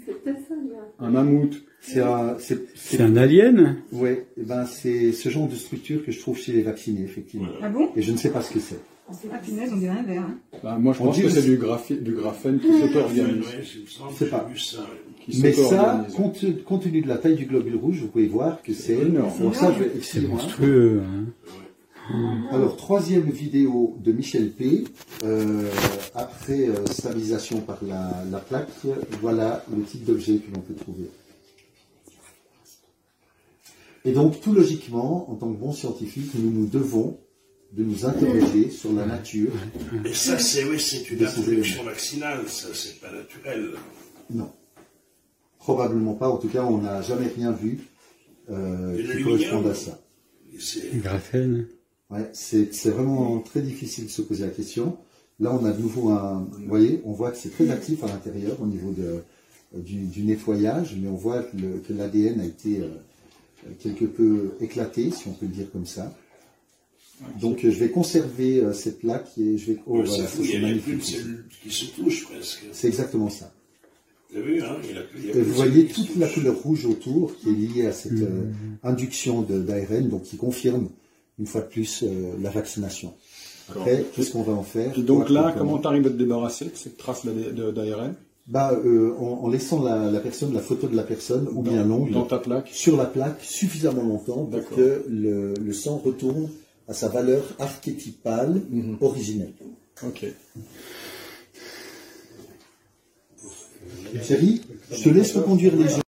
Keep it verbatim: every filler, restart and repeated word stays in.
C'est peut-être ça, là. Un mammouth. C'est un, c'est, C'est un alien? Ouais, eh ben c'est ce genre de structure que je trouve chez les vaccinés, effectivement. Ah bon? Et je ne sais pas ce que c'est. Ah punaise, on dirait un verre. Hein. Bah, moi, je On pense dit que que c'est c'est- du, graphi- du graphène qui s'auto-organise. Ouais, je me semble Je sais que pas. j'ai vu ça. ouais. Qui Mais ça, s'auto-organise. compte, compte tenu de la taille du globule rouge, vous pouvez voir que c'est énorme. Bon, ça, je vais C'est excusez-moi. monstrueux. Hein. Alors, troisième vidéo de Michel P. Euh, après euh, stabilisation par la, la plaque, voilà le type d'objet que l'on peut trouver. Et donc, tout logiquement, en tant que bon scientifique, nous nous devons de nous interroger sur la nature. Et ça, c'est oui, c'est une De ces introduction vaccinale, ça, c'est pas naturel. Non. Probablement pas. En tout cas, on n'a jamais rien vu euh, Et qui le corresponde lumineux. à ça. Et c'est- Le graphène. Ouais, c'est c'est vraiment très difficile de se poser la question. Là, on a de nouveau un... Vous voyez, on voit que c'est très actif à l'intérieur au niveau de, du, du nettoyage, mais on voit que le- que l'A D N a été euh, quelque peu éclaté, si on peut le dire comme ça. Donc, euh, je vais conserver euh, cette plaque et je vais... Oh, Ouais, voilà, ça ça, fout, il c'est n'y a plus de magnifique. cellules qui se touchent presque. C'est exactement ça. Vous avez vu, hein, il y a plus, il y a Et plus de vous voyez cellules qui toute se la touchent. couleur rouge autour qui est liée à cette euh, induction d'A R N, donc qui confirme une fois de plus euh, la vaccination. Après, qu'est-ce qu'on va en faire? Et donc là, Quoi, comment tu arrives à te débarrasser de cette trace d'A R N? Bah, euh, en, en laissant la, la personne, la photo de la personne, ou bien l'ongle, Dans ta plaque? sur la plaque suffisamment longtemps pour D'accord. que le, le sang retourne à sa valeur archétypale Mhm. originelle. Ok. Thierry, je te laisse reconduire les gens.